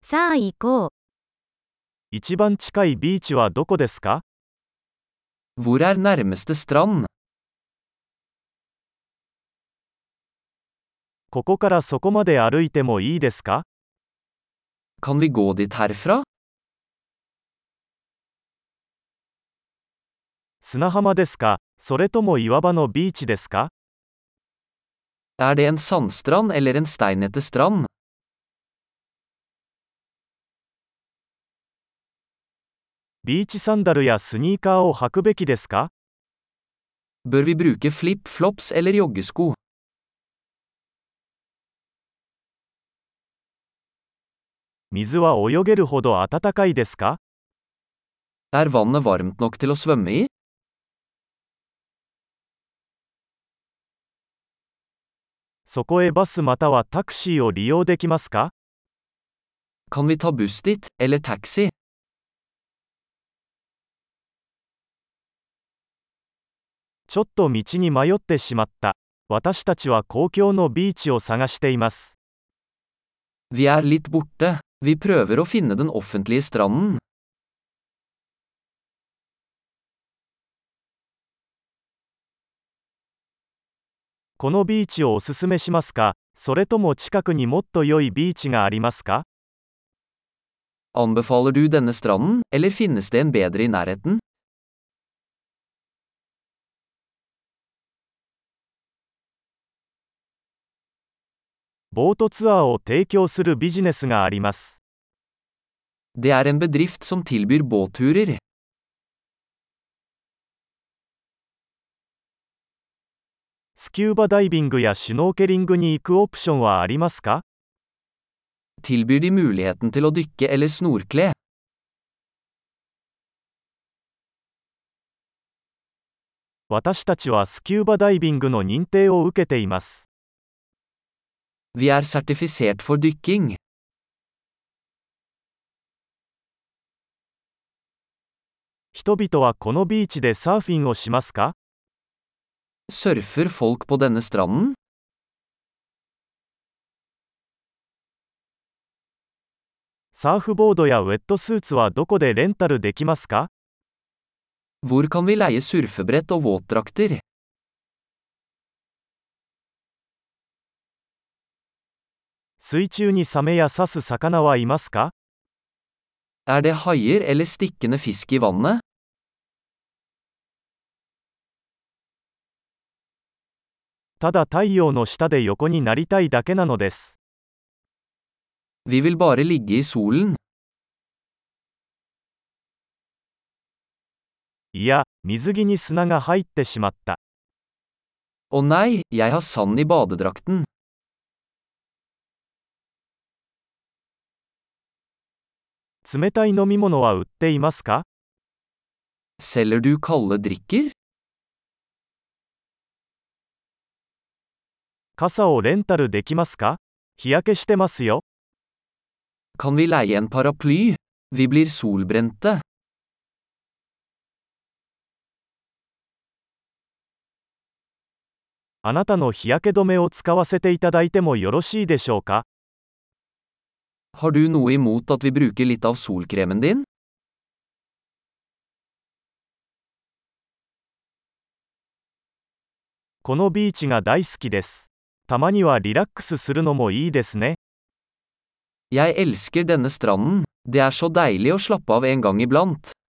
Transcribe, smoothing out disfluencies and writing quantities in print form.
さあ行こう。 一番近いビーチはどこですか？ Hvor er nærmeste strand? ここからそこまで歩いてもいいですか？ Kan vi gå dit herfra? 砂浜ですか？それとも岩場のビーチですか？ Er det en sandstrand eller en steinete strand? ビーチサンダルやスニーカーを履くべきですか？ Bør vi bruke flip-flops eller joggesko? 水は泳げるほど暖かいですか？ Er vannet varmt nok til å svømme i? そこへバスまたはタクシーを利用できますか？ Kan vi ta buss dit, eller taxi? ちょっと道に迷ってしまった。私たちは公共のビーチを探しています。 Vi er litt borte. Vi prøver å finne den offentlige stranden. このビーチをおすすめしますか？それとも近くにもっと良いビーチがありますか？ Anbefaler du denne stranden, eller finnes det en bedre i nærheten? ボートツアーを提供するビジネスがあります。 Det er en bedrift som tilbyr båtturer. スキューバダイビングやシュノーケリングに行くオプションはありますか？ Tilbyr de muligheten til å dykke eller snorkle? 私たちはスキューバダイビングの認定を受けています。 Vi er sertifisert for dykking. 人々はこのビーチでサーフィンをしますか？ Surfer folk på denne stranden? サーフボードやウェットスーツはどこでレンタルできますか？ Hvor kan vi leie surfebrett og våtdrakter? 水中にサメや刺す魚はいますか？ Er det haier eller stikkende fisk i vannet? ただ太陽の下で横になりたいだけなのです。 Vi vil bare ligge i solen. いや、水着に砂が入ってしまった。 Å nei, jeg har sand i badedrakten. 冷たい飲み物は売っていますか？ Selger du kalde drikker? 傘をレンタルできますか？日焼けしてますよ。 Kan vi leie en paraply? Vi blir solbrente. あなたの日焼け止めを使わせていただいてもよろしいでしょうか？ Har du noe imot at vi bruker litt av solkremen din? このビーチが大好きです。たまにはリラックスするのもいいですね。 Jeg elsker denne stranden. Det er så deilig å slappe av en gang iblant.